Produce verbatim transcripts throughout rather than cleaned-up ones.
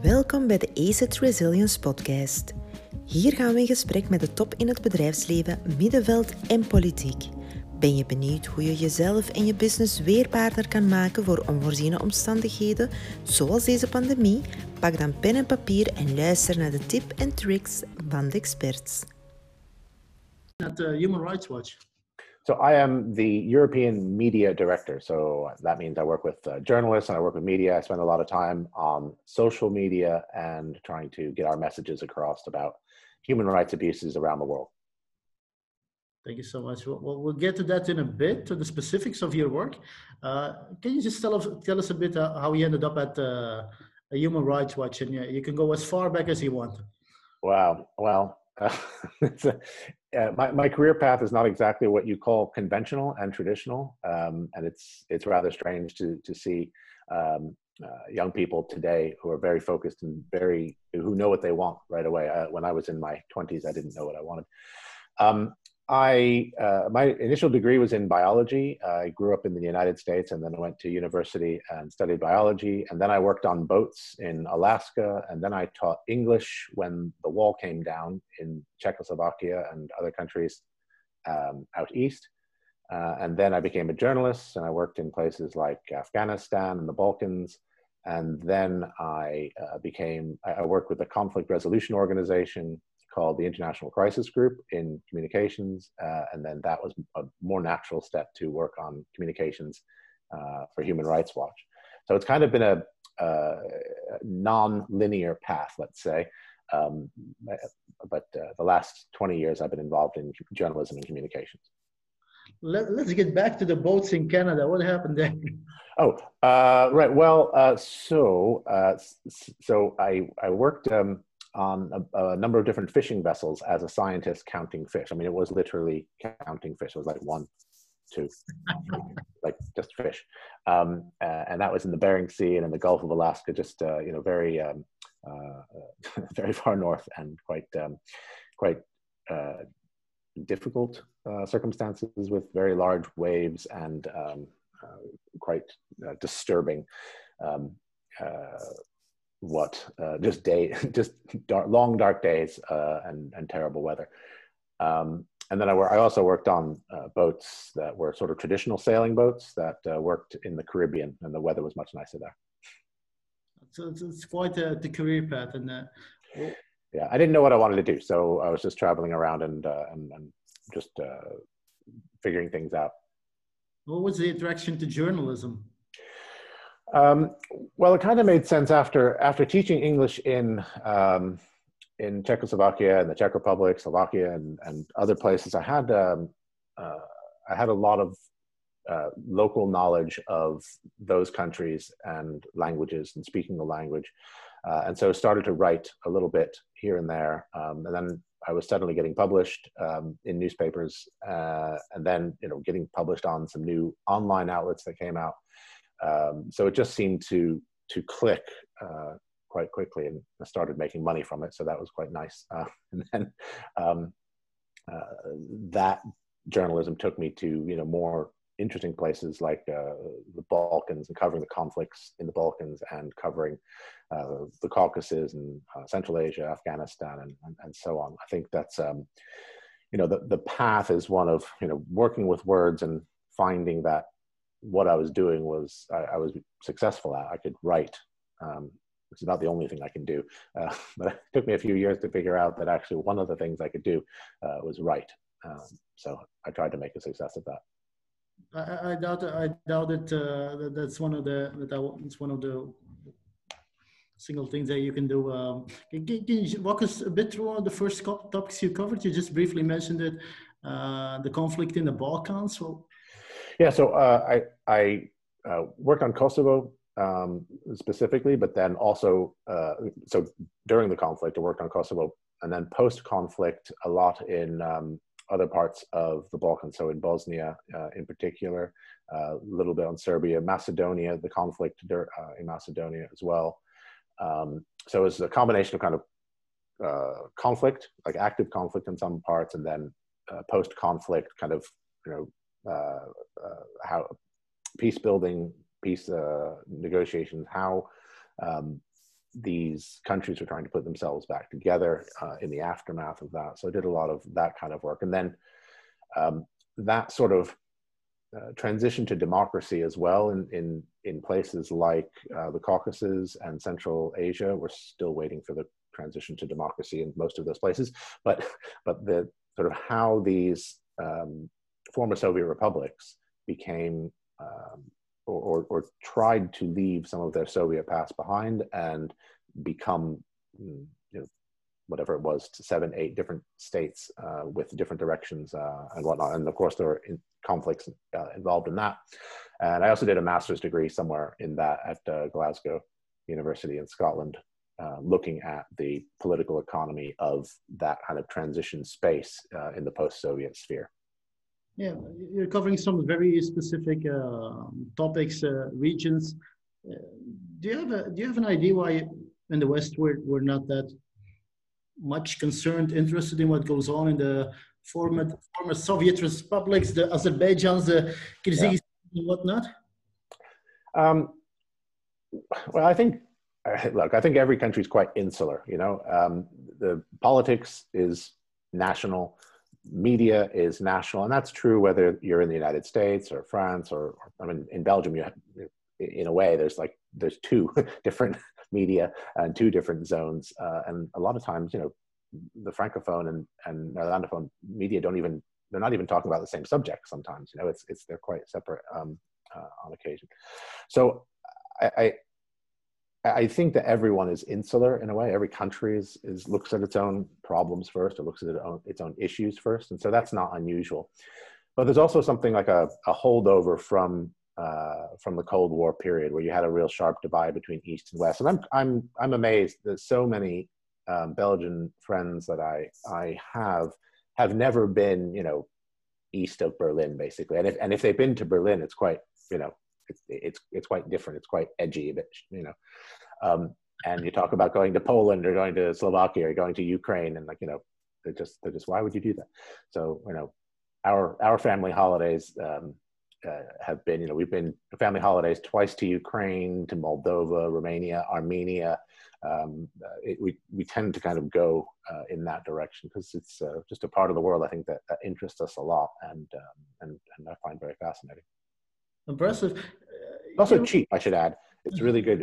Welkom bij de ACET Resilience Podcast. Hier gaan we in gesprek met de top in het bedrijfsleven, middenveld en politiek. Ben je benieuwd hoe je jezelf en je business weerbaarder kan maken voor onvoorziene omstandigheden, zoals deze pandemie? Pak dan pen en papier en luister naar de tips en tricks van de experts. At uh, Human Rights Watch. So I am the European Media Director. So that means I work with uh, journalists and I work with media. I spend a lot of time on social media and trying to get our messages across about human rights abuses around the world. Thank you so much. We'll, we'll get to that in a bit, to the specifics of your work. Uh, can you just tell us, tell us a bit uh, how you ended up at uh, a Human Rights Watch? And you, you can go as far back as you want. Wow. Well, uh, it's a, uh, my, my career path is not exactly what you call conventional and traditional. Um, and it's, it's rather strange to, to see um, uh, young people today who are very focused and very, who know what they want right away. Uh, when I was in my twenties, I didn't know what I wanted. Um, I, uh, my initial degree was in biology. I grew up in the United States and then I went to university and studied biology. And then I worked on boats in Alaska. And then I taught English when the wall came down in Czechoslovakia and other countries um, out east. Uh, and then I became a journalist and I worked in places like Afghanistan and the Balkans. And then I uh, became, I worked with a conflict resolution organization called the International Crisis Group in communications. Uh, and then that was a more natural step to work on communications uh, for Human Rights Watch. So it's kind of been a, a non-linear path, let's say. Um, but uh, the last twenty years I've been involved in journalism and communications. Let, let's get back to the boats in Canada. What happened there? Oh, uh, right. Well, uh, so uh, so I, I worked um, on a, a number of different fishing vessels as a scientist counting fish. I mean, it was literally counting fish. It was like one, two, like just fish. Um, uh, and that was in the Bering Sea and in the Gulf of Alaska, just, uh, you know, very, um, uh, very far north and quite, um, quite uh, difficult uh, circumstances with very large waves and um, uh, quite uh, disturbing um, uh, what uh, just day, just dark, long dark days uh, and and terrible weather. Um, and then I, I also worked on uh, boats that were sort of traditional sailing boats that uh, worked in the Caribbean, and the weather was much nicer there. So it's, it's quite a, the career path, and uh, well, yeah, I didn't know what I wanted to do, so I was just traveling around and uh, and, and just uh, figuring things out. What was the attraction to journalism? Um, well, it kind of made sense after after teaching English in um, in Czechoslovakia and the Czech Republic, Slovakia, and, and other places. I had um, uh, I had a lot of uh, local knowledge of those countries and languages and speaking the language, uh, and so I started to write a little bit here and there. Um, and then I was suddenly getting published um, in newspapers, uh, and then you know getting published on some new online outlets that came out. Um, so it just seemed to to click uh, quite quickly, and I started making money from it. So that was quite nice. Uh, and then um, uh, that journalism took me to you know more interesting places like uh, the Balkans and covering the conflicts in the Balkans and covering uh, the Caucasus and uh, Central Asia, Afghanistan, and, and and so on. I think that's um, you know the the path is one of you know working with words and finding that what I was doing was I, I was successful at. I could write, um, which is not the only thing I can do. Uh, but it took me a few years to figure out that actually one of the things I could do uh, was write. Um, so I tried to make a success of that. I, I doubt. I doubt it. Uh, that that's one of the. That it's one of the single things that you can do. Um, can, can you walk us a bit through the first topics you covered? You just briefly mentioned it. Uh, the conflict in the Balkans. So, yeah. So uh, I I uh, worked on Kosovo um, specifically, but then also uh, so during the conflict, I worked on Kosovo, and then post-conflict, a lot in um, other parts of the Balkans. So in Bosnia, uh, in particular, uh, a little bit on Serbia, Macedonia, the conflict uh, in Macedonia as well. Um, so it's a combination of kind of uh, conflict, like active conflict in some parts, and then uh, post-conflict kind of, you know, uh, uh, how peace building, peace uh, negotiations, how um, these countries were trying to put themselves back together uh, in the aftermath of that. So I did a lot of that kind of work. And then um, that sort of uh, transition to democracy as well in, in, in places like uh, the Caucasus and Central Asia. We're still waiting for the transition to democracy in most of those places. But, but the sort of how these um, former Soviet republics became um, Or, or, or tried to leave some of their Soviet past behind and become, you know, whatever it was, to seven, eight different states uh, with different directions uh, and whatnot. And of course, there were in conflicts uh, involved in that. And I also did a master's degree somewhere in that at uh, Glasgow University in Scotland, uh, looking at the political economy of that kind of transition space uh, in the post-Soviet sphere. Yeah, you're covering some very specific uh, topics, uh, regions. Uh, do you have a Do you have an idea why in the West we're we're not that much concerned, interested in what goes on in the former former Soviet republics, the Azerbaijans, the Kyrgyzstan, yeah. and whatnot? Um, well, I think look, I think every country is quite insular. You know, um, the politics is national. Media is national, and that's true whether you're in the United States or France or, or I mean, in Belgium, you have, in a way, there's like there's two different media and two different zones, uh, and a lot of times, you know, the francophone and and Netherlandophone media don't even they're not even talking about the same subject. Sometimes, you know, it's it's they're quite separate um, uh, on occasion. So I, I I think that everyone is insular in a way. Every country is, is looks at its own problems first, or looks at its own, its own issues first. And so that's not unusual. But there's also something like a, a holdover from, uh, from the Cold War period where you had a real sharp divide between East and West. And I'm, I'm, I'm amazed that so many um, Belgian friends that I, I have, have never been, you know, east of Berlin, basically. And if, and if they've been to Berlin, it's quite, you know, It's, it's it's quite different. It's quite edgy, a bit, you know. Um, and you talk about going to Poland or going to Slovakia or going to Ukraine, and like you know, they're just they're just why would you do that? So you know, our our family holidays um, uh, have been you know we've been family holidays twice to Ukraine, to Moldova, Romania, Armenia. Um, uh, it, we we tend to kind of go uh, in that direction because it's uh, just a part of the world I think that, that interests us a lot and um, and and I find very fascinating. Impressive. Uh, also you, cheap, I should add. It's really good.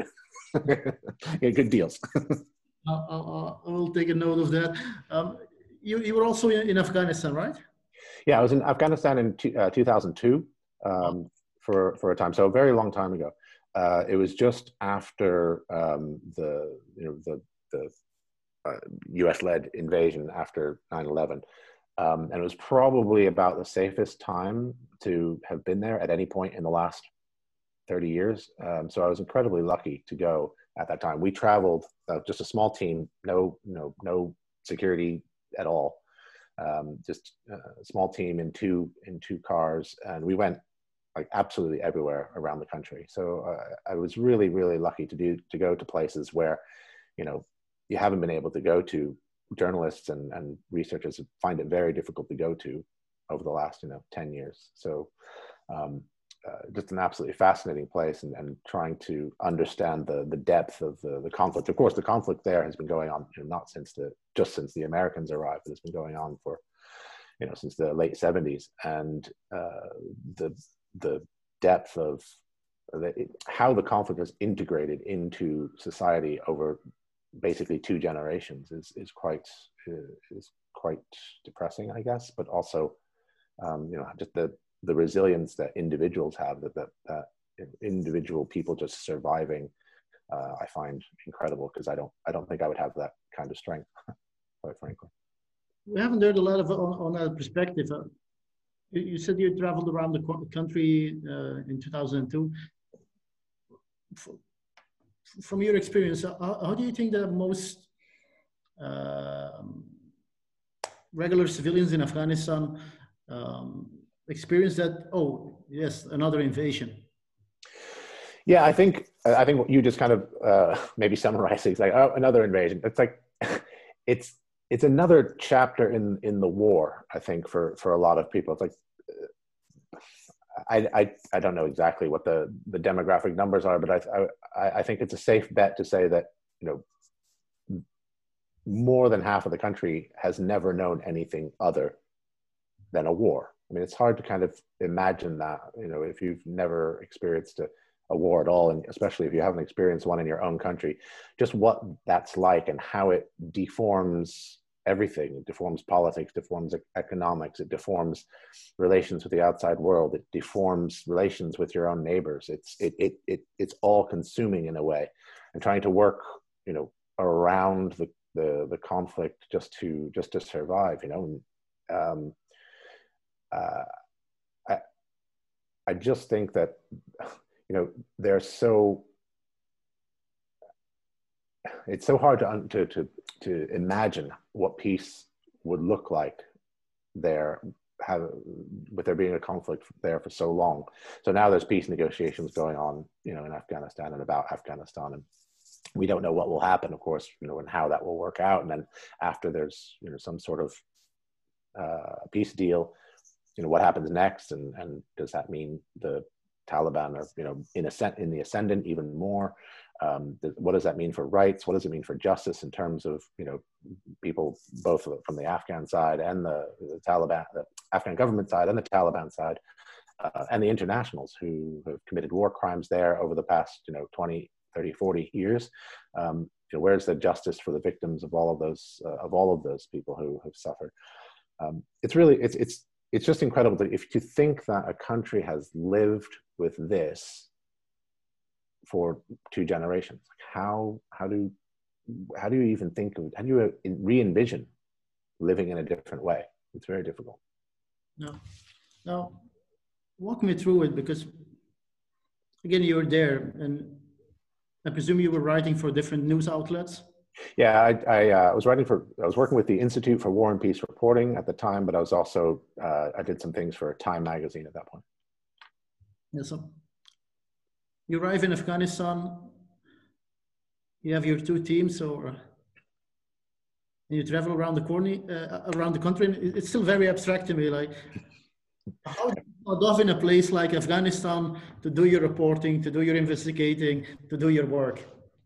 Yeah, good deals. I'll, I'll, I'll take a note of that. Um, you, you were also in, in Afghanistan, right? Yeah, I was in Afghanistan in two, uh, two thousand two um, oh. for, for a time. So a very long time ago. Uh, it was just after um, the, you know, the, the uh, U S-led invasion after nine eleven. Um, and it was probably about the safest time to have been there at any point in the last thirty years. Um, so I was incredibly lucky to go at that time. We traveled uh, just a small team, no, no, no security at all. Um, just a small team in two, in two cars. And we went like absolutely everywhere around the country. So uh, I was really, really lucky to do, to go to places where, you know, you haven't been able to go to. Journalists and, and researchers find it very difficult to go to over the last, you know, ten years. So um, uh, just an absolutely fascinating place and, and trying to understand the, the depth of the, the conflict. Of course, the conflict there has been going on, you know, not since the, just since the Americans arrived, but it's been going on for, you know, since the late seventies. And uh, the, the depth of the, how the conflict is integrated into society over basically two generations is is quite uh, is quite depressing, I guess. But also, um, you know, just the the resilience that individuals have, that that, that individual people just surviving, uh, I find incredible because I don't I don't think I would have that kind of strength, quite frankly. We haven't heard a lot of on, on that perspective. Uh, you, you said you traveled around the country uh, in two thousand two. For, From your experience, how, how do you think that most uh, regular civilians in Afghanistan um, experience that? Oh, yes, another invasion. Yeah, I think I think what you just kind of uh, maybe summarized it. It's like, oh, another invasion. It's like it's it's another chapter in in the war. I think for for a lot of people, it's like. I, I, I don't know exactly what the, the demographic numbers are, but I, I, I think it's a safe bet to say that you know, more than half of the country has never known anything other than a war. I mean, it's hard to kind of imagine that, you know, if you've never experienced a, a war at all, and especially if you haven't experienced one in your own country, just what that's like and how it deforms everything. It deforms politics, deforms economics, it deforms relations with the outside world, it deforms relations with your own neighbors. It's it it, it it's all consuming in a way, and trying to work, you know, around the the the conflict just to just to survive, you know. And, um, uh, I I just think that, you know, they're so, it's so hard to to to to imagine what peace would look like there, have with there being a conflict there for so long. So now there's peace negotiations going on, you know, in Afghanistan and about Afghanistan, and we don't know what will happen, of course, you know, and how that will work out. And then after there's, you know, some sort of uh, peace deal, you know, what happens next, and and does that mean the Taliban are, you know, in ascent in the ascendant even more? Um, th- what does that mean for rights? What does it mean for justice in terms of, you know, people both from the Afghan side and the, the Taliban, the Afghan government side and the Taliban side, uh, and the internationals who have committed war crimes there over the past, you know, twenty, thirty, forty years? Um, you know, where's the justice for the victims of all of those, uh, of all of those people who have suffered? Um, it's really, it's, it's, it's just incredible that if you think that a country has lived with this for two generations, how, how do, how do you even think of, how do you re-envision living in a different way? It's very difficult. No, no, walk me through it, because again, you're there, and I presume you were writing for different news outlets. Yeah, I, I uh, was writing for, I was working with the Institute for War and Peace Reporting at the time, but I was also, uh, I did some things for Time magazine at that point. Yeah, so you arrive in Afghanistan, you have your two teams, or and you travel around the corner, uh, around the country. And it's still very abstract to me. Like, how do you start off in a place like Afghanistan to do your reporting, to do your investigating, to do your work?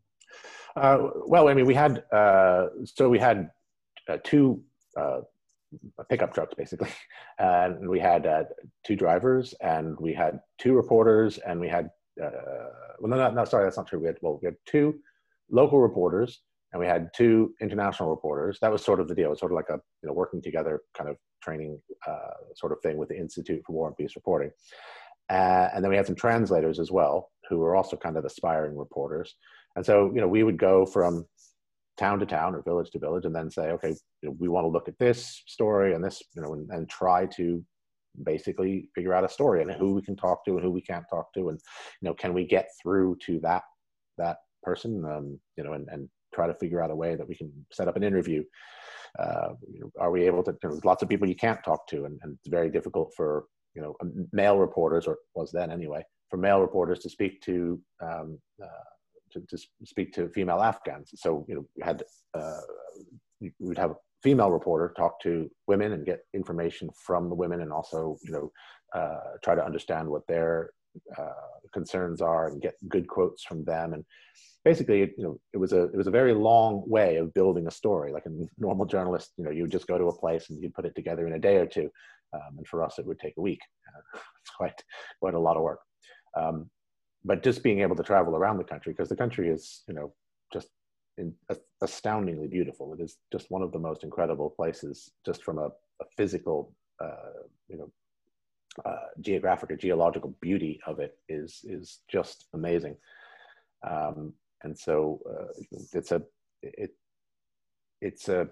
Uh, well, I mean, we had, uh, so we had uh, two uh, pickup trucks, basically. And we had uh, two drivers, and we had two reporters, and we had, uh, well, no, no, no, sorry, that's not true. We had, well, we had two local reporters, and we had two international reporters. That was sort of the deal. It was sort of like a, you know, working together kind of training uh, sort of thing with the Institute for War and Peace Reporting. Uh, and then we had some translators as well, who were also kind of aspiring reporters. And so, you know, we would go from town to town or village to village, and then say, okay, you know, we want to look at this story and this, you know, and, and try to basically figure out a story and who we can talk to and who we can't talk to. And, you know, can we get through to that, that person, um, you know, and, and try to figure out a way that we can set up an interview. Uh, you know, are we able to, you know, there's lots of people you can't talk to, and, and it's very difficult for, you know, male reporters, or was then anyway, for male reporters to speak to, um, uh, to, to speak to female Afghans. So, you know, we had, uh, we would have a female reporter talk to women and get information from the women, and also, you know, uh, try to understand what their uh, concerns are and get good quotes from them. And basically, you know, it was a, it was a very long way of building a story. Like a normal journalist, you know, you would just go to a place and you'd put it together in a day or two. Um, and for us, it would take a week. Uh, it's quite, quite a lot of work. Um, but just being able to travel around the country, because the country is, you know, just in, uh, astoundingly beautiful. It is just one of the most incredible places, just from a, a physical, uh, you know, uh, geographic or geological beauty of it is, is just amazing. Um, and so uh, it's a, it, it's a,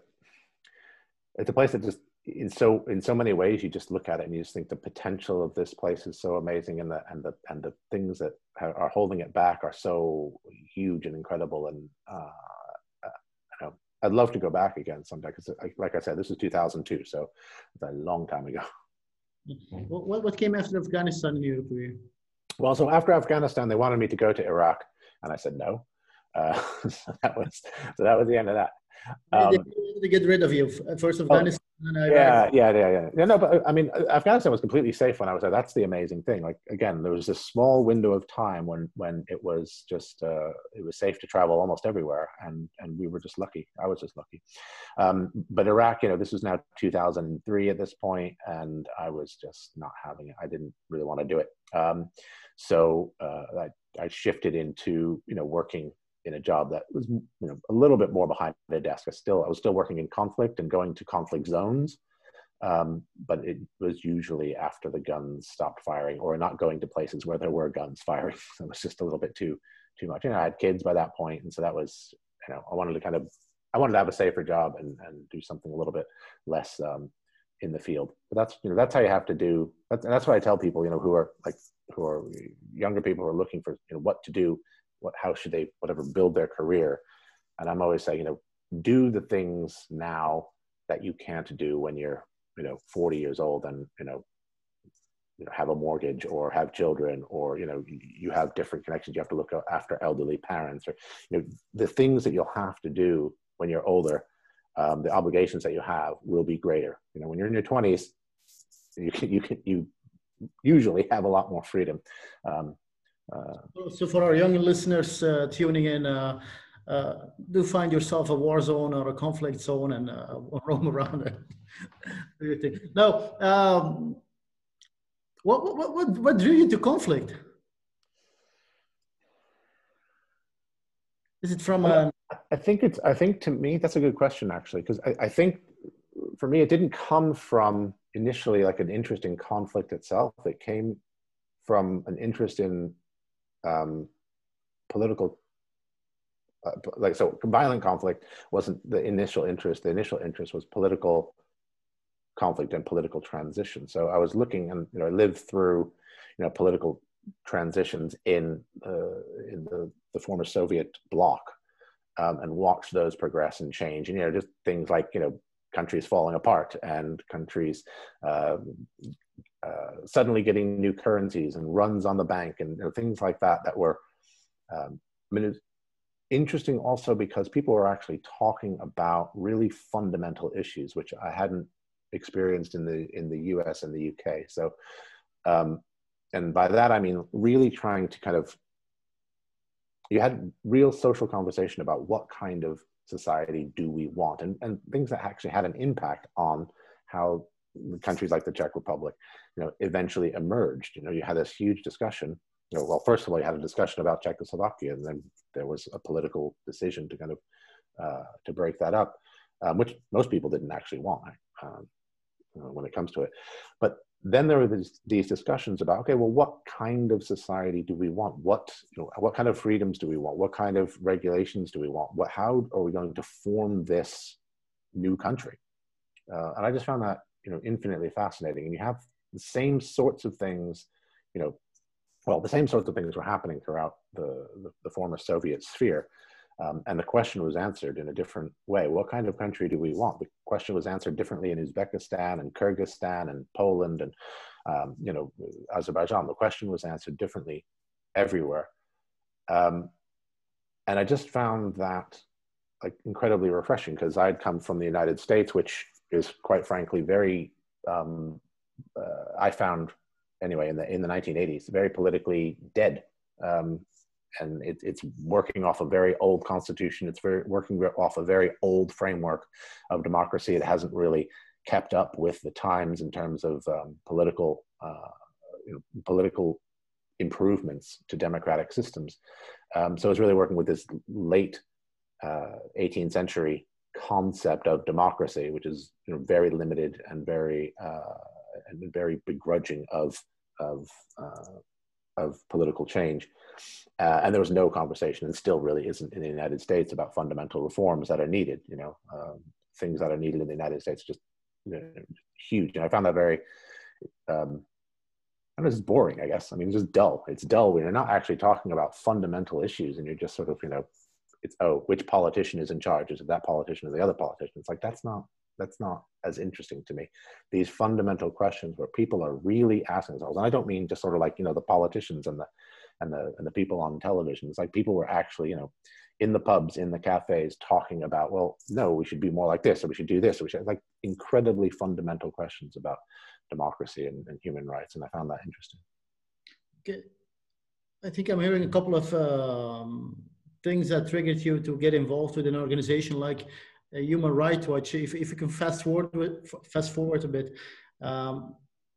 it's a place that just, in so in so many ways, you just look at it and you just think the potential of this place is so amazing, and the and the and the things that are holding it back are so huge and incredible. And uh, you know, I'd love to go back again someday, because, like I said, this is two thousand two, so it's a long time ago. What what came after Afghanistan in your career? Well, so after Afghanistan, they wanted me to go to Iraq, and I said no. Uh, so that was so that was the end of that. Um, they, Um, they get rid of you. First Afghanistan, And I, Yeah, I, yeah, yeah, yeah. Yeah, no, but I mean, Afghanistan was completely safe when I was there. That's the amazing thing. Like again, there was this small window of time when when it was just uh, it was safe to travel almost everywhere, and and we were just lucky. I was just lucky. Um, but Iraq, you know, this was now two thousand three at this point, and I was just not having it. I didn't really want to do it. Um, so uh, I I shifted into you know working in a job that was you know a little bit more behind the desk. I still I was still working in conflict and going to conflict zones, um, but it was usually after the guns stopped firing or not going to places where there were guns firing. So it was just a little bit too too much. You know, I had kids by that point, and so that was you know I wanted to kind of I wanted to have a safer job and and do something a little bit less um, in the field. But that's you know that's how you have to do. That's that's what I tell people you know who are like who are younger people who are looking for you know what to do. What, how should they, whatever, build their career? And I'm always saying, you know, do the things now that you can't do when you're, you know, forty years old and, you know, you know, have a mortgage or have children or, you know, you have different connections. You have to look after elderly parents or, you know, the things that you'll have to do when you're older, um, the obligations that you have will be greater. You know, when you're in your twenties, you can, you can, you usually have a lot more freedom. Um, Uh, so for our young listeners uh, tuning in, uh, uh, do find yourself a war zone or a conflict zone and uh, roam around it. Now, um, what, what, what, what drew you to conflict? Is it from well, a... I think it's, I think to me, that's a good question actually, because I, I think for me, it didn't come from initially like an interest in conflict itself. It came from an interest in um, political, uh, like, so violent conflict wasn't the initial interest. The initial interest was political conflict and political transition. So I was looking and, you know, I lived through, you know, political transitions in, uh, in the, the former Soviet bloc um, and watched those progress and change. And, you know, just things like, you know, countries falling apart and countries uh, uh, suddenly getting new currencies and runs on the bank and you know, things like that that were, um, I mean, it's interesting also because people were actually talking about really fundamental issues, which I hadn't experienced in the in the U S and the U K. So, um, and by that I mean really trying to kind of, you had real social conversation about what kind of society do we want, and, and things that actually had an impact on how countries like the Czech Republic, you know, eventually emerged. You know, you had this huge discussion. You know, well, first of all, you had a discussion about Czechoslovakia, and then there was a political decision to kind of uh, to break that up, um, which most people didn't actually want um, you know, when it comes to it. But then there were these, these discussions about, okay, well, what kind of society do we want? What you know, what kind of freedoms do we want? What kind of regulations do we want? What how are we going to form this new country? Uh, and I just found that you know infinitely fascinating. And you have the same sorts of things, you know. Well, the same sorts of things were happening throughout the, the, the former Soviet sphere. Um, and the question was answered in a different way. What kind of country do we want? The question was answered differently in Uzbekistan and Kyrgyzstan and Poland and, um, you know, Azerbaijan. The question was answered differently everywhere. Um, and I just found that like incredibly refreshing because I'd come from the United States, which is quite frankly very, um, uh, I found anyway, in the in the nineteen eighties, very politically dead, um, and it, it's working off a very old constitution. It's very working off a very old framework of democracy. It hasn't really kept up with the times in terms of um, political uh, you know, political improvements to democratic systems. Um, so it's really working with this late uh, eighteenth century concept of democracy, which is you know very limited and very uh, and very begrudging of of uh, of political change, uh, and there was no conversation, and still really isn't in the United States about fundamental reforms that are needed. You know, um, things that are needed in the United States just you know, huge, and I found that very. Um, I don't know, it's boring, I guess. I mean, it's just dull. It's dull when you're not actually talking about fundamental issues, and you're just sort of, you know, it's oh, which politician is in charge? Is it that politician or the other politician? It's like that's not. That's not as interesting to me. These fundamental questions where people are really asking themselves, and I don't mean just sort of like, you know, the politicians and the, and the and the people on television. It's like people were actually, you know, in the pubs, in the cafes, talking about, well, no, we should be more like this, or we should do this, or we should, like, incredibly fundamental questions about democracy and, and human rights, and I found that interesting. Okay. I think I'm hearing a couple of um, things that triggered you to get involved with an organization like uh, Human Rights Watch. If, if you can fast forward, with, fast forward a bit, um,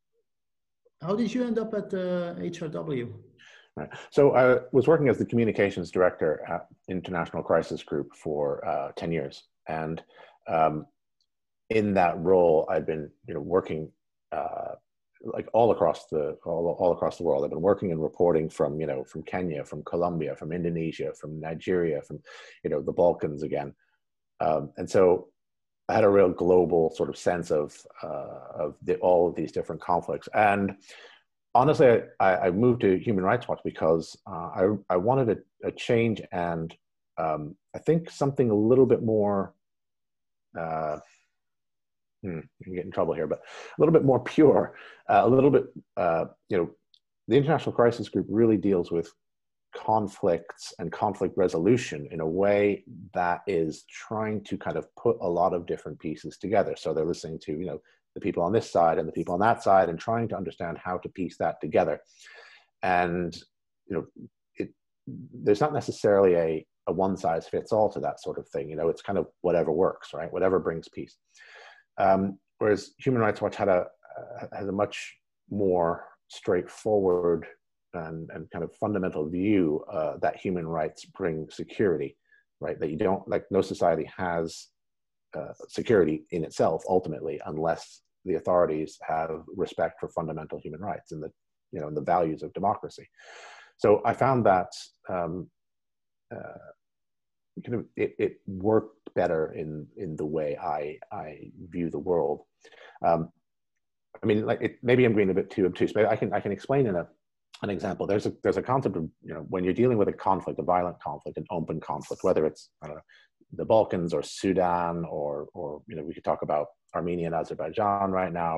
how did you end up at uh, H R W? Right. So I was working as the communications director at International Crisis Group for uh, ten years. And um, in that role, I'd been, you know, working uh, like all across the all, all across the world. I've been working and reporting from, you know, from Kenya, from Colombia, from Indonesia, from Nigeria, from, you know, the Balkans again. Um, and so I had a real global sort of sense of uh, of the, all of these different conflicts. And honestly, I, I moved to Human Rights Watch because uh, I I wanted a, a change, and um, I think something a little bit more. Uh, Hmm, you can get in trouble here, but a little bit more pure, uh, a little bit, uh, you know, the International Crisis Group really deals with conflicts and conflict resolution in a way that is trying to kind of put a lot of different pieces together. So they're listening to, you know, the people on this side and the people on that side, and trying to understand how to piece that together. And, you know, it, there's not necessarily a, a one size fits all to that sort of thing. You know, it's kind of whatever works, right? Whatever brings peace. Um, whereas Human Rights Watch had a uh, has a much more straightforward and, and kind of fundamental view uh, that human rights bring security, right? That you don't, like, no society has uh, security in itself ultimately unless the authorities have respect for fundamental human rights and the, you know, and the values of democracy. So I found that um, uh, kind of it, it worked better in in the way I I view the world. Um, I mean, like, it, maybe I'm being a bit too obtuse, but I can I can explain in a an example. There's a there's a concept of, you know, when you're dealing with a conflict, a violent conflict, an open conflict, whether it's, I don't know, the Balkans or Sudan, or or you know, we could talk about Armenia and Azerbaijan right now.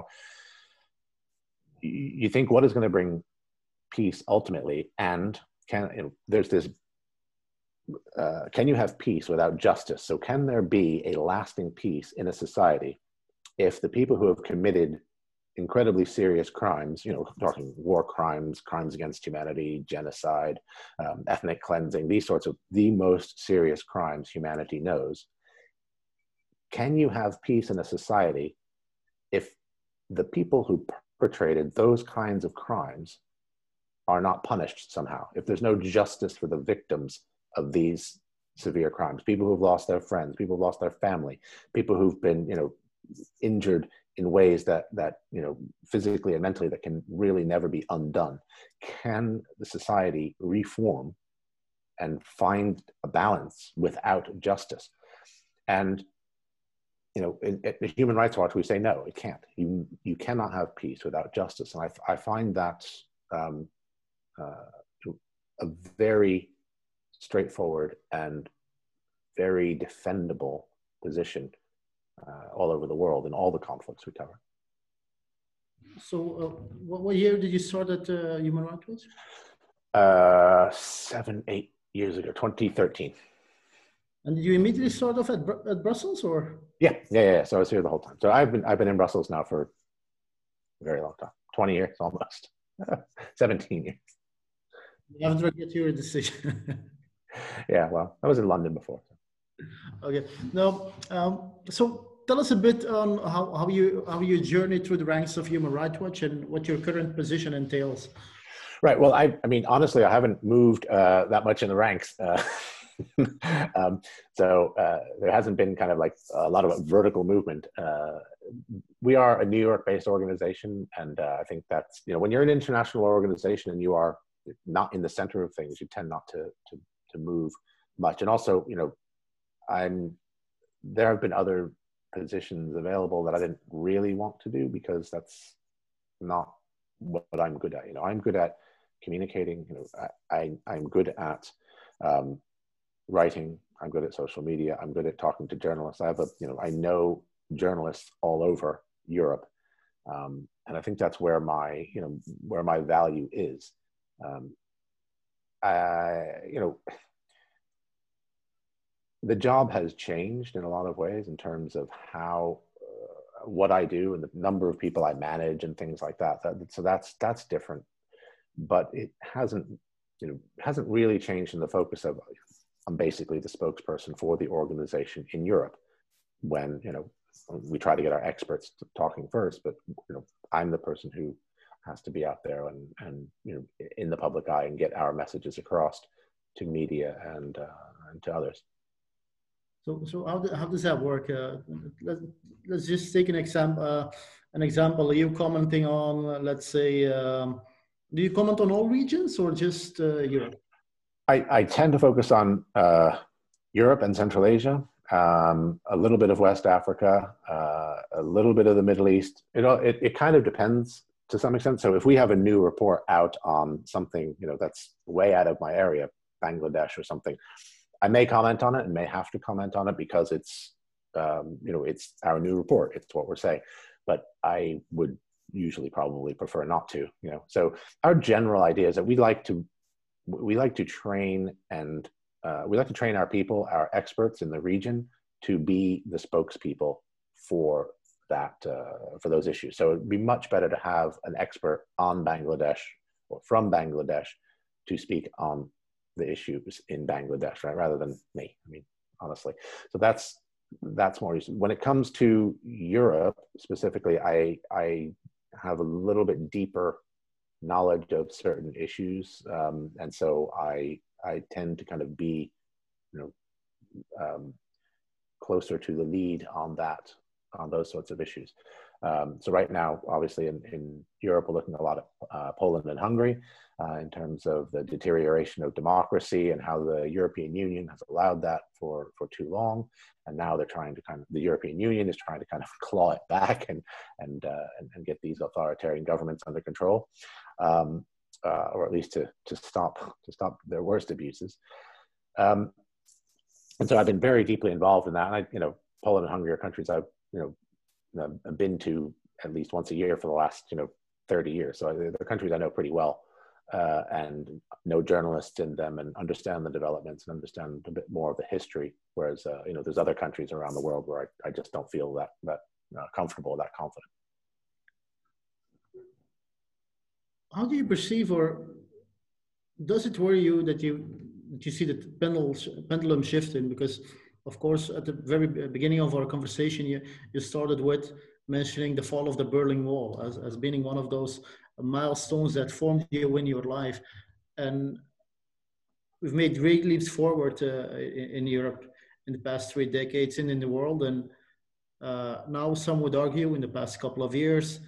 You, you think, what is going to bring peace ultimately? And can, you know, there's this. Uh, can you have peace without justice? So can there be a lasting peace in a society if the people who have committed incredibly serious crimes, you know, talking war crimes, crimes against humanity, genocide, um, ethnic cleansing, these sorts of the most serious crimes humanity knows, can you have peace in a society if the people who perpetrated those kinds of crimes are not punished somehow? If there's no justice for the victims of these severe crimes, people who've lost their friends, people who've lost their family, people who've been, you know, injured in ways that, that, you know, physically and mentally, that can really never be undone. Can the society reform and find a balance without justice? And, you know, in, in Human Rights Watch, we say, no, it can't. You, you cannot have peace without justice. And I, I find that um, uh, a very straightforward and very defendable position uh, all over the world in all the conflicts we cover. So uh, what, what year did you start at uh, Human Rights Watch? Uh, seven, eight years ago, twenty thirteen. And did you immediately start off at, Br at Brussels, or? Yeah, yeah, yeah. So I was here the whole time. So I've been, I've been in Brussels now for a very long time, twenty years almost, seventeen years. You haven't regret your decision. Yeah, well, I was in London before. Okay. Now, um, so tell us a bit on how, how you how you journeyed through the ranks of Human Rights Watch and what your current position entails. Right. Well, I, I mean, honestly, I haven't moved uh, that much in the ranks. Uh, um, so uh, there hasn't been kind of like a lot of vertical movement. Uh, we are a New York-based organization, and uh, I think that's, you know, when you're an international organization and you are not in the center of things, you tend not to to to move much. And also, you know, I'm there have been other positions available that I didn't really want to do because that's not what I'm good at. You know, I'm good at communicating. You know, I, I I'm good at um, writing. I'm good at social media. I'm good at talking to journalists. I have a, you know, I know journalists all over Europe, um, and I think that's where my, you know, where my value is. Um, uh, you know, the job has changed in a lot of ways in terms of how, uh, what I do and the number of people I manage and things like that. that. So that's, that's different, but it hasn't, you know, hasn't really changed in the focus of, I'm basically the spokesperson for the organization in Europe when, you know, we try to get our experts talking first, but, you know, I'm the person who has to be out there and, and, you know, in the public eye and get our messages across to media and, uh, and to others. So, so how, do, how does that work? Uh, let, let's just take an example. Uh, an example. Are you commenting on, uh, let's say, um, do you comment on all regions or just uh, Europe? I, I tend to focus on uh, Europe and Central Asia, um, a little bit of West Africa, uh, a little bit of the Middle East. It, it, it kind of depends to some extent. So if we have a new report out on something, you know, that's way out of my area, Bangladesh or something, I may comment on it and may have to comment on it because it's, um, you know, it's our new report. It's what we're saying. But I would usually probably prefer not to, you know. So our general idea is that we like to, we like to train and uh, we like to train our people, our experts in the region to be the spokespeople for that, uh, for those issues. So it'd be much better to have an expert on Bangladesh or from Bangladesh to speak on the issues in Bangladesh, right? Rather than me, I mean, honestly. So that's, that's more useful. When it comes to Europe specifically, I, I have a little bit deeper knowledge of certain issues. Um, and so I, I tend to kind of be, you know, um, closer to the lead on that, on those sorts of issues. Um, so right now, obviously in, in Europe, we're looking at a lot of uh, Poland and Hungary uh, in terms of the deterioration of democracy and how the European Union has allowed that for, for too long. And now they're trying to kind of, the European Union is trying to kind of claw it back and, and, uh, and, and get these authoritarian governments under control, um, uh, or at least to, to, stop, to stop their worst abuses. Um, and so I've been very deeply involved in that. And I, you know, Poland and Hungary are countries I've, you know, I've been to at least once a year for the last, you know, thirty years. So they're countries I know pretty well uh, and know journalists in them and understand the developments and understand a bit more of the history. Whereas, uh, you know, there's other countries around the world where I, I just don't feel that, that uh, comfortable, that confident. How do you perceive, or does it worry you that you, that you see the pendulum shifting? Because of course, at the very beginning of our conversation, you, you started with mentioning the fall of the Berlin Wall as, as being one of those milestones that formed you in your life. And we've made great leaps forward uh, in, in Europe in the past three decades and in the world. And uh, now some would argue in the past couple of years,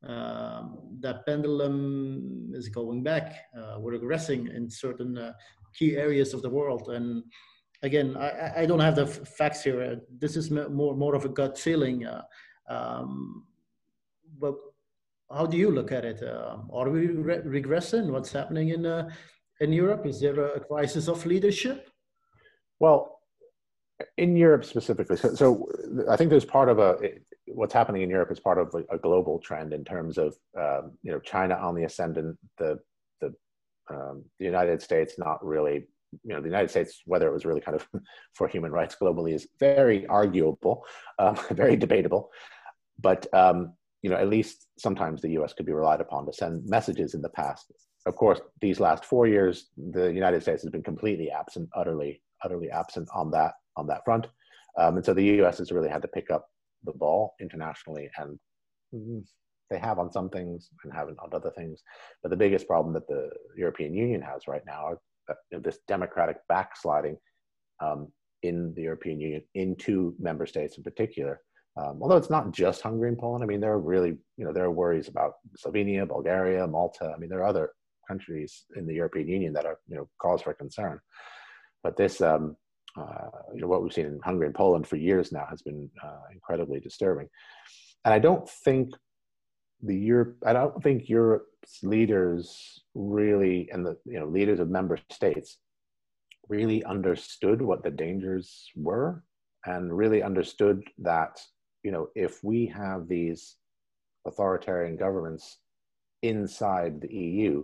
um, that pendulum is going back. Uh, we're regressing in certain uh, key areas of the world. And again, I, I don't have the facts here. This is more, more of a gut feeling. Uh, um, but how do you look at it? Uh, are we re regressing? What's happening in, uh, in Europe? Is there a crisis of leadership? Well, in Europe specifically, so, so I think there's part of a, what's happening in Europe is part of a, a global trend in terms of, um, you know, China on the ascendant, the, the, um, the United States not really, you know, the United States, whether it was really kind of for human rights globally is very arguable, um, very debatable. But, um, you know, at least sometimes the U S could be relied upon to send messages in the past. Of course, these last four years, the United States has been completely absent, utterly, utterly absent on that, on that front. Um, and so the U S has really had to pick up the ball internationally, and they have on some things and haven't on other things. But the biggest problem that the European Union has right now are you know, this democratic backsliding um, in the European Union into member states in particular. Um, although it's not just Hungary and Poland. I mean, there are really, you know, there are worries about Slovenia, Bulgaria, Malta. I mean, there are other countries in the European Union that are, you know, cause for concern. But this, um, uh, you know, what we've seen in Hungary and Poland for years now has been uh, incredibly disturbing. And I don't think the Europe, I don't think Europe's leaders really, and the you know leaders of member states really understood what the dangers were, and really understood that you know if we have these authoritarian governments inside the E U,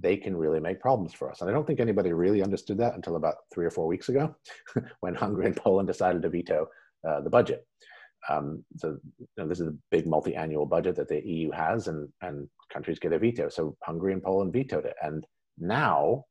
they can really make problems for us. And I don't think anybody really understood that until about three or four weeks ago, when Hungary and Poland decided to veto uh, the budget. Um, so you know, this is a big multi-annual budget that the E U has, and, and countries get a veto. So Hungary and Poland vetoed it. And now,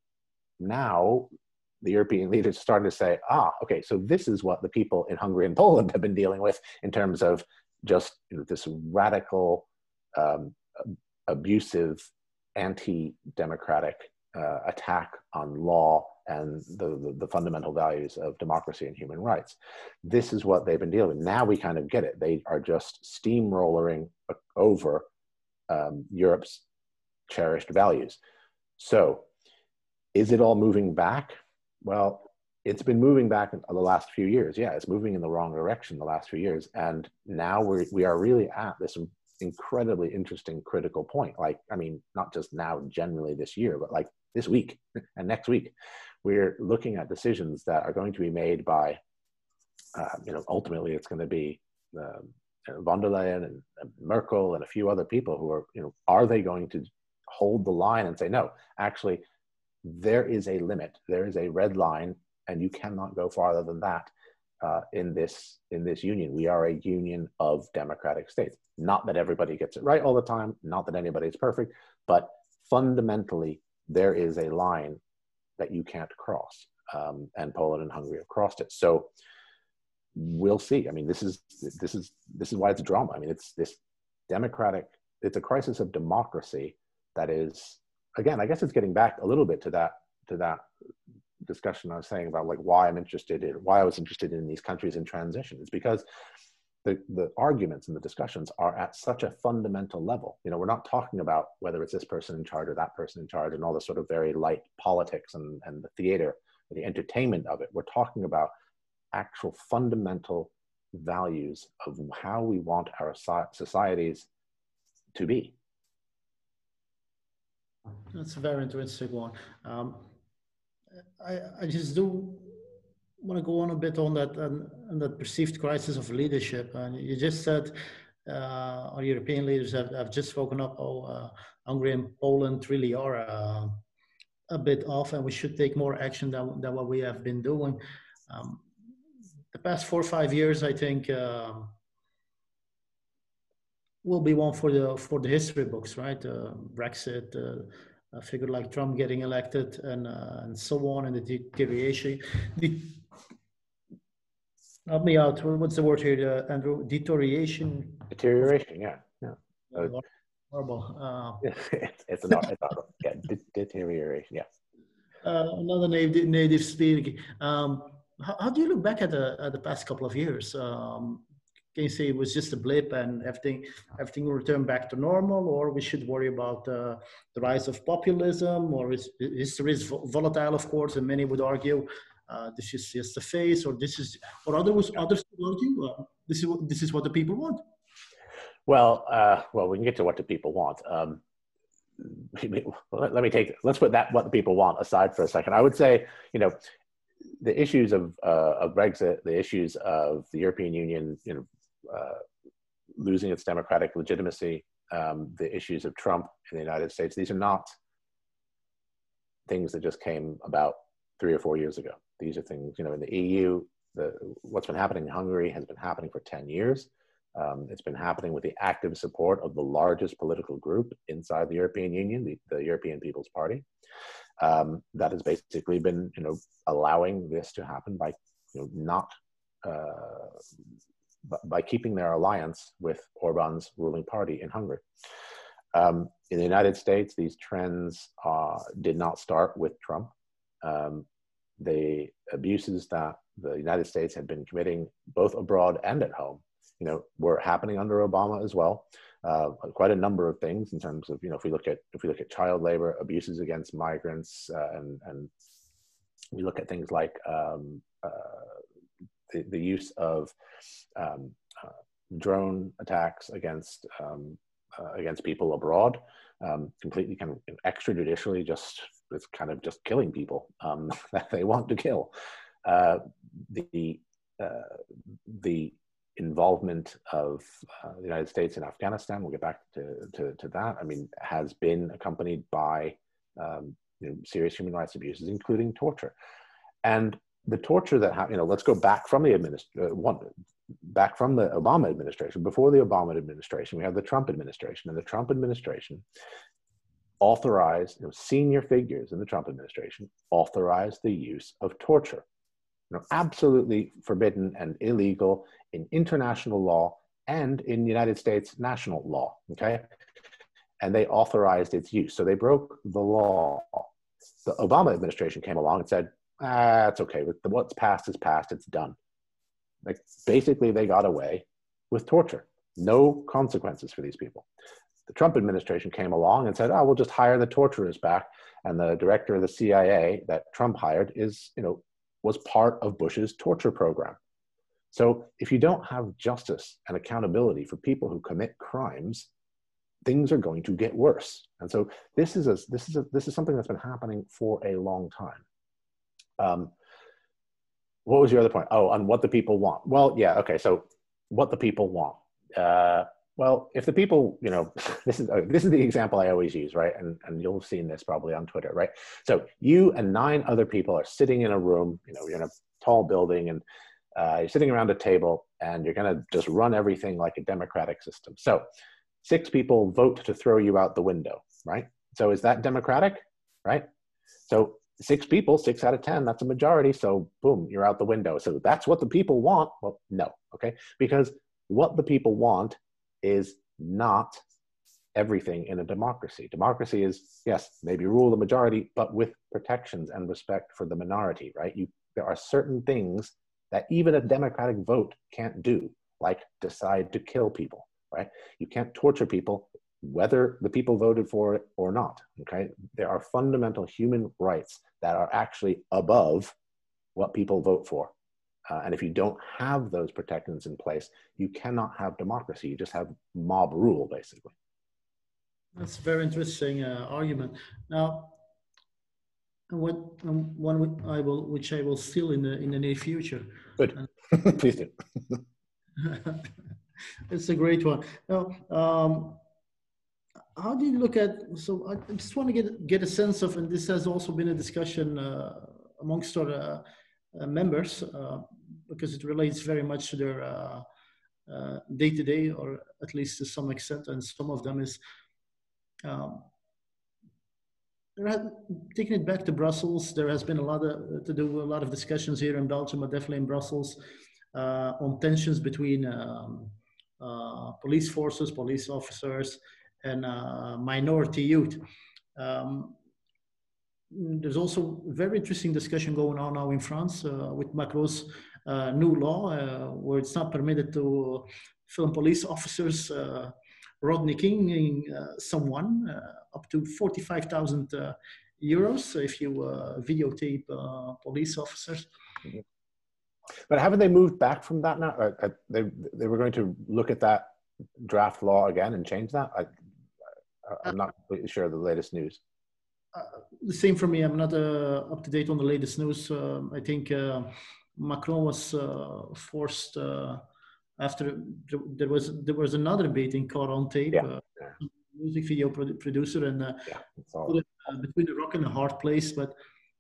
now the European leaders are starting to say, ah, okay, so this is what the people in Hungary and Poland have been dealing with in terms of just you know, this radical, um, abusive, anti-democratic uh, attack on law and the, the, the fundamental values of democracy and human rights. This is what they've been dealing with. Now we kind of get it. They are just steamrolling over um, Europe's cherished values. So is it all moving back? Well, it's been moving back in the last few years. Yeah, it's moving in the wrong direction the last few years. And now we're, we are really at this incredibly interesting critical point. Like, I mean, not just now generally this year, but like this week and next week, we're looking at decisions that are going to be made by, uh, you know, ultimately it's going to be uh, von der Leyen and, and Merkel and a few other people who are, you know, are they going to hold the line and say, no, actually, there is a limit, there is a red line, and you cannot go farther than that uh, in this in this union. We are a union of democratic states. Not that everybody gets it right all the time, not that anybody's perfect, but fundamentally, there is a line that you can't cross. Um, and Poland and Hungary have crossed it. So we'll see. I mean, this is this is this is why it's a drama. I mean, it's this democratic, it's a crisis of democracy that is, again, I guess it's getting back a little bit to that to that discussion I was saying about like why I'm interested in why I was interested in these countries in transition. It's because the the arguments and the discussions are at such a fundamental level. You know, we're not talking about whether it's this person in charge or that person in charge and all the sort of very light politics and, and the theater, the entertainment of it. We're talking about actual fundamental values of how we want our societies to be. That's a very interesting one. Um, I, I just do want to go on a bit on that and, and that perceived crisis of leadership. And you just said uh, our European leaders have, have just spoken up. Oh, uh, Hungary and Poland really are uh, a bit off, and we should take more action than, than what we have been doing. Um, the past four or five years, I think, uh, will be one for the for the history books, right? Uh, Brexit. Uh, a figure like Trump getting elected, and uh, and so on, and the deterioration. The, help me out. What's the word here, uh, Andrew? Deterioration. Deterioration. Yeah. Yeah. Uh, horrible. Uh, it's it's not. It's not yeah. De deterioration. Yeah. Uh, another native native speaker. Um, how, how do you look back at the at the past couple of years? Um, Can you say it was just a blip and everything everything will return back to normal, or we should worry about uh, the rise of populism, or is history is volatile, of course, and many would argue uh, this is just a phase, or this is, or others others would argue uh, this is this is what the people want. Well, uh, well, we can get to what the people want. Um, let, let me take let's put that what the people want aside for a second. I would say, you know, the issues of uh, of Brexit, the issues of the European Union, you know. Uh, losing its democratic legitimacy, um, the issues of Trump in the United States, these are not things that just came about three or four years ago. These are things, you know, in the E U, the, what's been happening in Hungary has been happening for ten years. Um, it's been happening with the active support of the largest political group inside the European Union, the, the European People's Party. Um, that has basically been, you know, allowing this to happen by, you know, not uh, by keeping their alliance with Orban's ruling party in Hungary. Um, in the United States, these trends uh, did not start with Trump. Um, the abuses that the United States had been committing, both abroad and at home, you know, were happening under Obama as well. Uh, quite a number of things in terms of, you know, if we look at if we look at child labor, abuses against migrants, uh, and and we look at things like um, uh, The, the use of um, uh, drone attacks against um, uh, against people abroad, um, completely kind of extrajudicially, just it's kind of just killing people um, that they want to kill. Uh, the uh, the involvement of uh, the United States in Afghanistan, we'll get back to, to to that. I mean, has been accompanied by um, you know, serious human rights abuses, including torture. And the torture that happened, you know, let's go back from the administ- uh, one, back from the Obama administration. Before the Obama administration, we have the Trump administration, and the Trump administration authorized, you know, senior figures in the Trump administration authorized the use of torture. You know, absolutely forbidden and illegal in international law and in United States national law, okay? And they authorized its use. So they broke the law. The Obama administration came along and said, ah, it's okay, what's past is past, it's done. Like, basically they got away with torture. No consequences for these people. The Trump administration came along and said, oh, we'll just hire the torturers back. And the director of the C I A that Trump hired is, you know, was part of Bush's torture program. So if you don't have justice and accountability for people who commit crimes, things are going to get worse. And so this is a, this is a, this is something that's been happening for a long time. Um, what was your other point? Oh, on what the people want. Well, yeah, okay. So what the people want. Uh, well, if the people, you know, this is uh, this is the example I always use, right? And and you'll have seen this probably on Twitter, right? So you and nine other people are sitting in a room. You know, you're in a tall building, and uh, you're sitting around a table, and you're going to just run everything like a democratic system. So six people vote to throw you out the window, right? So is that democratic, right? So six people, six out of ten, that's a majority. So boom, you're out the window. So that's what the people want. Well, no, okay? Because what the people want is not everything in a democracy. Democracy is, yes, maybe rule the majority, but with protections and respect for the minority, right? You, there are certain things that even a democratic vote can't do, like decide to kill people, right? You can't torture people, whether the people voted for it or not, okay? There are fundamental human rights that are actually above what people vote for. Uh, and if you don't have those protections in place, you cannot have democracy. You just have mob rule, basically. That's a very interesting uh, argument. Now, what um, one I will, which I will steal in the in the near future. Good, please do. It's a great one. Now, um, how do you look at? So I just want to get get a sense of, and this has also been a discussion uh, amongst our uh, uh, members uh, because it relates very much to their uh, uh, day-to-day, or at least to some extent, and some of them is. Um, taking it back to Brussels, there has been a lot of to do a lot of discussions here in Belgium, but definitely in Brussels, uh, on tensions between um, uh, police forces, police officers, and uh, minority youth. Um, there's also a very interesting discussion going on now in France uh, with Macron's uh, new law, uh, where it's not permitted to film police officers uh, Rodney King uh, someone uh, up to forty-five thousand uh, euros if you uh, videotape uh, police officers. Mm-hmm. But haven't they moved back from that now? Uh, they, they were going to look at that draft law again and change that? I, I'm not completely sure of the latest news. Uh, the same for me. I'm not uh, up to date on the latest news. Uh, I think uh, Macron was uh, forced uh, after there was there was another debate in caught on tape. Yeah. Uh, Yeah. Music video produ producer and uh, yeah, put it, uh, between a rock and a hard place. But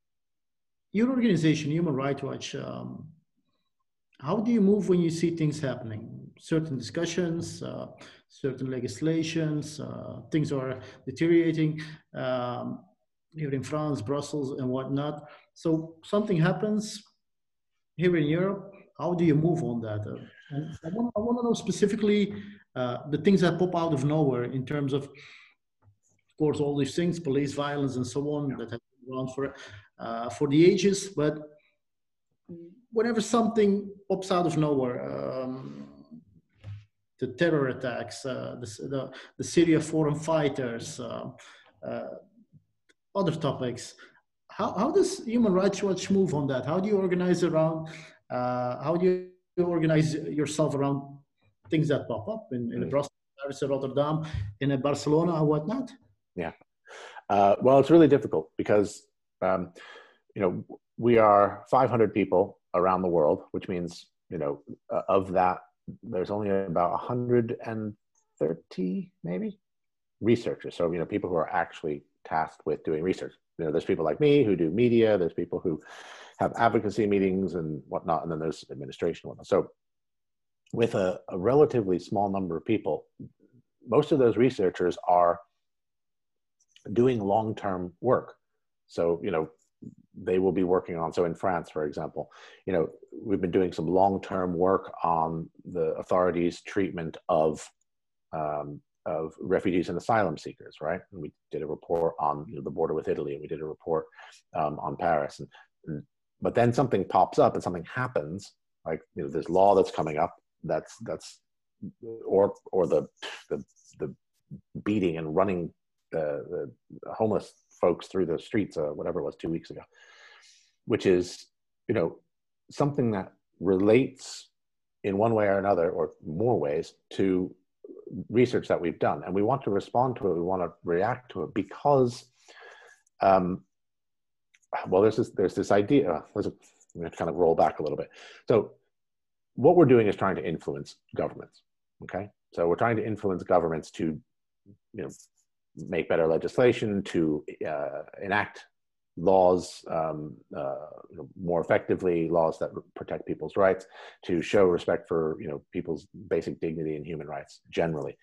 your organization, Human Rights Watch, um, how do you move when you see things happening? Certain discussions, uh, certain legislations, uh, things are deteriorating um, here in France, Brussels, and whatnot. So something happens here in Europe. How do you move on that? Uh, and I want, I want to know specifically uh, the things that pop out of nowhere in terms of, of course, all these things, police violence and so on, yeah, that have been around for, uh, for the ages. But whenever something pops out of nowhere, um, the terror attacks, uh, the, the, the Syria foreign fighters, uh, uh, other topics, how, how does Human Rights Watch move on that? How do you organize around, uh, how do you organize yourself around things that pop up in, in mm-hmm. Brussels, Paris, Rotterdam, in Barcelona and whatnot? Yeah, uh, well, it's really difficult because, um, you know, we are five hundred people around the world, which means, you know, uh, of that, there's only about one hundred thirty maybe researchers. So, you know, people who are actually tasked with doing research. You know, there's people like me who do media, there's people who have advocacy meetings and whatnot, and then there's administration and whatnot. So with a, a relatively small number of people, most of those researchers are doing long-term work. So, you know, they will be working on, so in France, for example, you know, we've been doing some long-term work on the authorities' treatment of, um, of refugees and asylum seekers, right? And we did a report on, you know, the border with Italy, and we did a report um, on Paris. And, and, but then something pops up and something happens, like, you know, this law that's coming up, that's, that's, or, or the, the, the beating and running the, the homeless folks through the streets, uh, whatever it was, two weeks ago, which is, you know, something that relates in one way or another, or more ways, to research that we've done. And we want to respond to it, we want to react to it, because, um, well, there's this, there's this idea, there's a, I'm going to kind of roll back a little bit. So what we're doing is trying to influence governments, okay? So we're trying to influence governments to, you know, make better legislation, to uh, enact laws um, uh, you know, more effectively, laws that protect people's rights, to show respect for, you know, people's basic dignity and human rights generally.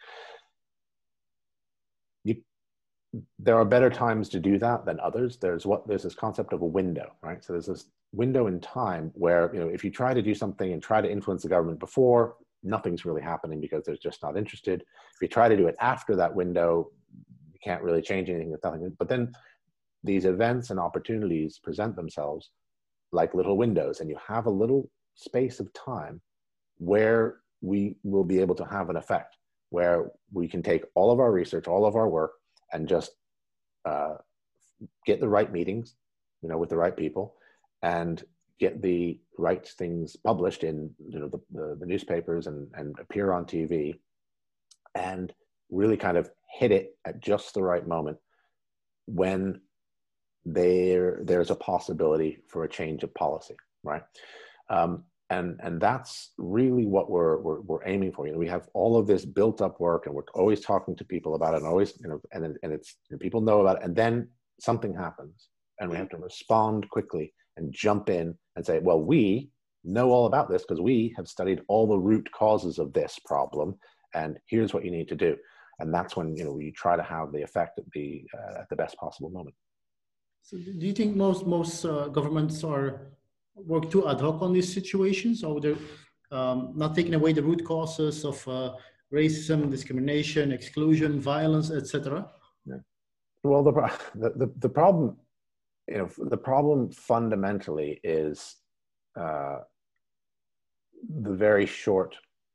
You, there are better times to do that than others. There's what there's this concept of a window, right? So there's this window in time where, you know, if you try to do something and try to influence the government before, nothing's really happening because they're just not interested. If you try to do it after that window, you can't really change anything with nothing. But then these events and opportunities present themselves like little windows, and you have a little space of time where we will be able to have an effect, where we can take all of our research, all of our work, and just uh, get the right meetings, you know, with the right people, and get the right things published in, you know, the, the, the newspapers, and, and appear on T V, and really kind of hit it at just the right moment when there there's a possibility for a change of policy, right? Um, and and that's really what we're, we're we're aiming for. You know, we have all of this built up work, and we're always talking to people about it, and always, you know, and and it's, and people know about it, and then something happens, and we have to respond quickly and jump in and say, well, we know all about this because we have studied all the root causes of this problem, and here's what you need to do. And that's when, you know, we try to have the effect at the uh, at the best possible moment. So do you think most most uh, governments are work too ad hoc on these situations, or they're um, not taking away the root causes of uh, racism, discrimination, exclusion, violence, et cetera? Yeah. Well, the, the the the problem, you know, the problem fundamentally is uh, the very short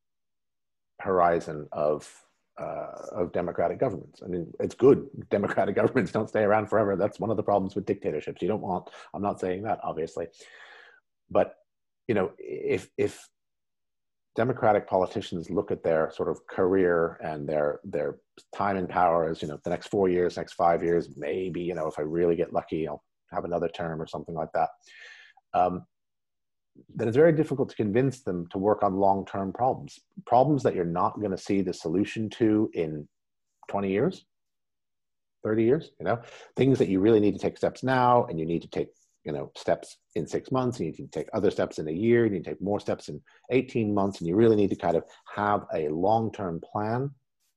horizon of uh, of democratic governments. I mean, it's good. Democratic governments don't stay around forever. That's one of the problems with dictatorships. You don't want, I'm not saying that, obviously. But, you know, if, if democratic politicians look at their sort of career and their, their time in power as, you know, the next four years, next five years, maybe, you know, if I really get lucky, I'll have another term or something like that. Um, then it's very difficult to convince them to work on long-term problems, problems that you're not going to see the solution to in twenty years, thirty years, you know, things that you really need to take steps now, and you need to take, you know, steps in six months, and you need to take other steps in a year, and you need to take more steps in eighteen months, and you really need to kind of have a long-term plan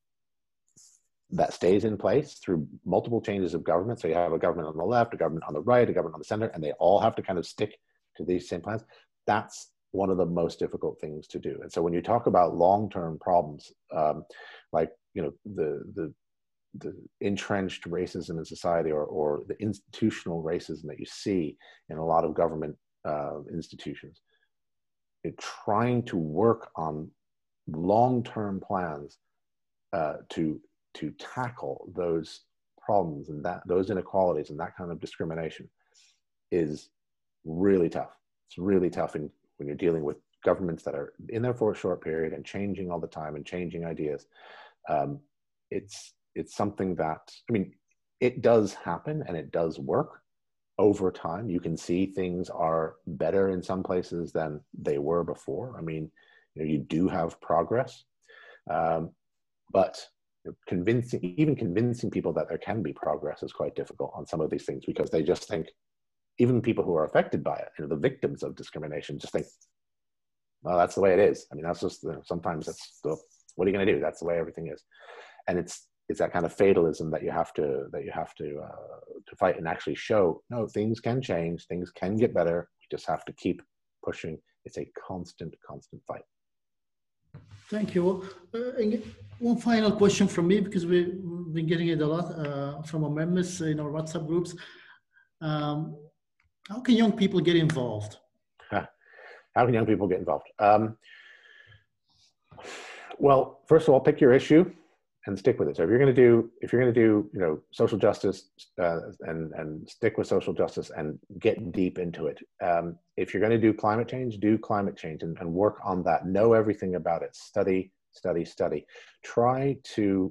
that stays in place through multiple changes of government. So you have a government on the left, a government on the right, a government on the center, and they all have to kind of stick to these same plans. That's one of the most difficult things to do. And so when you talk about long-term problems, um, like, you know, the, the, the entrenched racism in society, or, or the institutional racism that you see in a lot of government uh, institutions, it, trying to work on long-term plans uh, to, to tackle those problems and that, those inequalities and that kind of discrimination is really tough. It's really tough in, when you're dealing with governments that are in there for a short period and changing all the time and changing ideas. Um, it's, it's something that, I mean, it does happen and it does work over time. You can see things are better in some places than they were before. I mean, you know, you do have progress, um, but convincing, even convincing people that there can be progress is quite difficult on some of these things, because they just think, even people who are affected by it, you know, the victims of discrimination, just think, well, that's the way it is. I mean, that's just, you know, sometimes that's the, what are you going to do? That's the way everything is. And it's, it's that kind of fatalism that you have to, that you have to, uh, to fight and actually show, no, things can change, things can get better. We just have to keep pushing. It's a constant, constant fight. Thank you. Uh, one final question from me, because we, we've been getting it a lot uh, from our members in our WhatsApp groups. Um, how can young people get involved? How can young people get involved? Um, well, first of all, pick your issue and stick with it. So if you're going to do, if you're going to do, you know, social justice uh, and and stick with social justice and get deep into it. Um, if you're going to do climate change, do climate change and, and work on that. Know everything about it. Study, study, study. Try to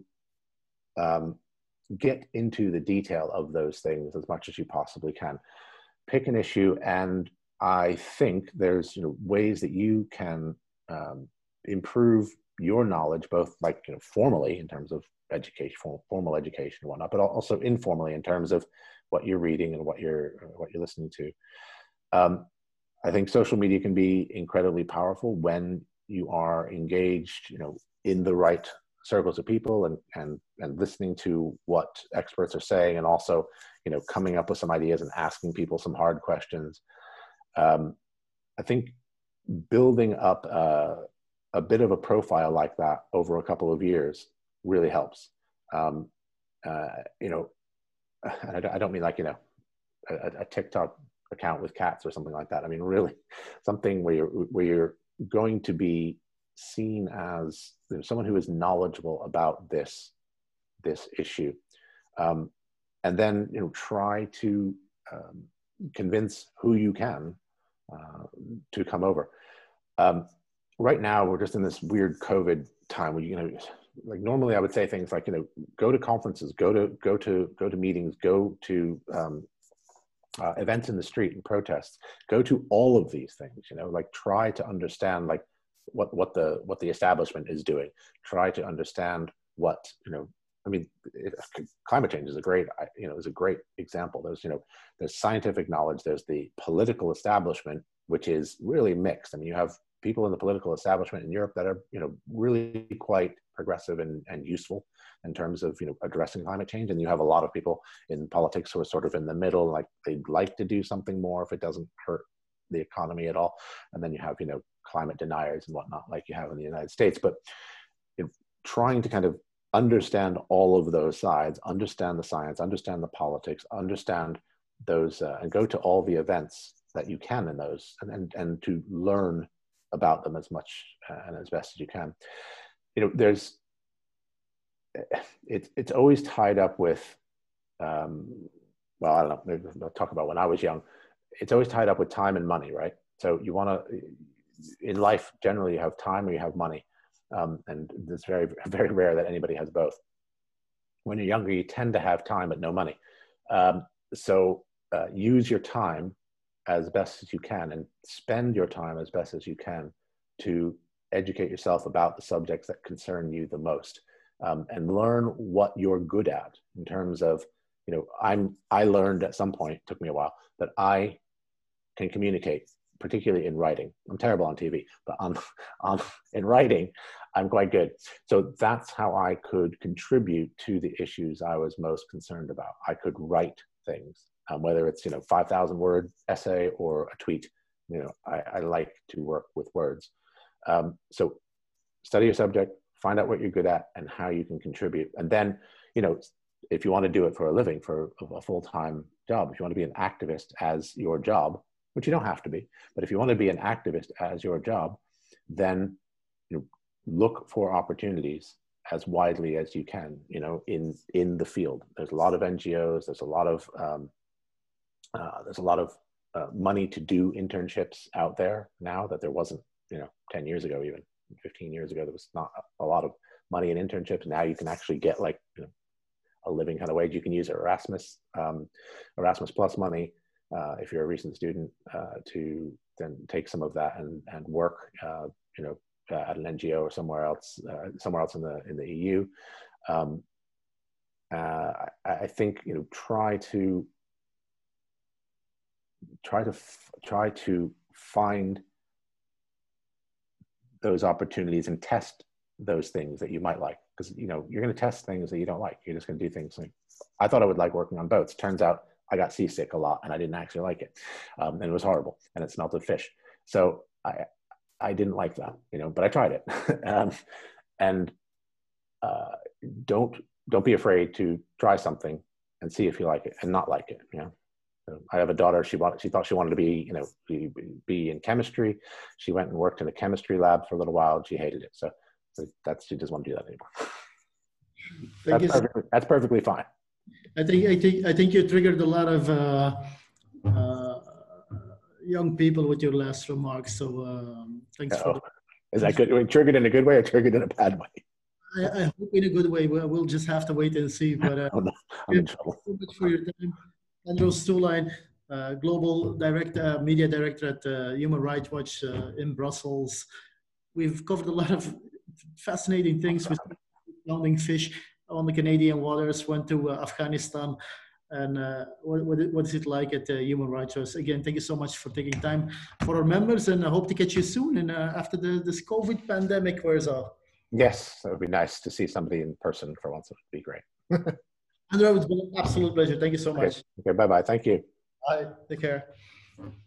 um, get into the detail of those things as much as you possibly can. Pick an issue, and I think there's, you know, ways that you can um, improve your knowledge, both like, you know, formally in terms of education, formal education and whatnot, but also informally in terms of what you're reading and what you're what you're listening to. Um, I think social media can be incredibly powerful when you are engaged, you know, in the right circles of people and and and listening to what experts are saying, and also, you know, coming up with some ideas and asking people some hard questions. Um, I think building up uh, a bit of a profile like that over a couple of years really helps. Um, uh, you know, and I, I don't mean like, you know, a, a TikTok account with cats or something like that. I mean, really something where you're, where you're going to be seen as, you know, someone who is knowledgeable about this, this issue. Um, and then, you know, try to um, convince who you can Uh, to come over. Um, right now, we're just in this weird COVID time where, you know, like normally I would say things like, you know, go to conferences, go to go to go to meetings, go to um, uh, events in the street and protests, go to all of these things. You know, like try to understand like what what the what the establishment is doing. Try to understand what, you know. I mean, it, climate change is a great, you know, is a great example. There's, you know, there's scientific knowledge. There's the political establishment, which is really mixed. I mean, you have people in the political establishment in Europe that are, you know, really quite progressive and, and useful in terms of, you know, addressing climate change. And you have a lot of people in politics who are sort of in the middle, like they'd like to do something more if it doesn't hurt the economy at all. And then you have, you know, climate deniers and whatnot, like you have in the United States. But you know, trying to kind of understand all of those sides, understand the science, understand the politics, understand those, uh, and go to all the events that you can in those, and, and, and to learn about them as much uh, and as best as you can. You know, there's, it, it's always tied up with, um, well, I don't know, maybe I'll talk about when I was young. It's always tied up with time and money, right? So you want to, in life, generally you have time or you have money. Um, and it's very, very rare that anybody has both. When you're younger, you tend to have time but no money. Um, so uh, use your time as best as you can, and spend your time as best as you can to educate yourself about the subjects that concern you the most, um, and learn what you're good at in terms of, you know, I'm, I learned at some point, it took me a while, that I can communicate, particularly in writing. I'm terrible on T V, but on, on, in writing, I'm quite good. So that's how I could contribute to the issues I was most concerned about. I could write things, um, whether it's, you know, five thousand word essay or a tweet. You know, I, I like to work with words. Um, so study your subject, find out what you're good at and how you can contribute. And then, you know, if you want to do it for a living, for a full-time job, if you want to be an activist as your job, which you don't have to be, but if you want to be an activist as your job, then, you know, look for opportunities as widely as you can, you know, in, in the field. There's a lot of N G Os, there's a lot of, um, uh, there's a lot of uh, money to do internships out there now that there wasn't, you know, ten years ago, even fifteen years ago, there was not a lot of money in internships. Now you can actually get like, you know, a living kind of wage. You can use Erasmus, um, Erasmus Plus money, uh, if you're a recent student, uh, to then take some of that and, and work, uh, you know, Uh, at an N G O or somewhere else, uh, somewhere else in the in the E U. um, uh, I, I think, you know, try to try to f- try to find those opportunities and test those things that you might like, because, you know, you're going to test things that you don't like. You're just going to do things like, I thought I would like working on boats. Turns out I got seasick a lot and I didn't actually like it. Um, and it was horrible and it smelled of fish. So I, I didn't like that, you know, but I tried it. um, and uh, don't, don't be afraid to try something and see if you like it and not like it. You know, so I have a daughter. She wanted, she thought she wanted to be, you know, be, be in chemistry. She went and worked in a chemistry lab for a little while and she hated it. So, so that's, she doesn't want to do that anymore. That's perfectly, that's perfectly fine. I think I think I think you triggered a lot of uh, uh, young people with your last remarks. So um, thanks Uh-oh. for. The, Is that good? Triggered in a good way or triggered in a bad way? I, I hope in a good way. We'll, we'll just have to wait and see. But uh, oh, no. I'm in trouble. Thank you so much for your time, Andros Stoelijn, uh, global director, uh, media director at uh, Human Rights Watch uh, in Brussels. We've covered a lot of fascinating things with drowning fish on the Canadian waters, went to uh, Afghanistan, and uh, what, what, what is it like at uh, Human Rights Watch? Again, thank you so much for taking time for our members, and I hope to catch you soon and uh, after the, this COVID pandemic wears off. Yes, it would be nice to see somebody in person for once. It would be great. Andrew, it's been an absolute pleasure. Thank you so much. Okay, okay, bye-bye. Thank you. Bye. Take care.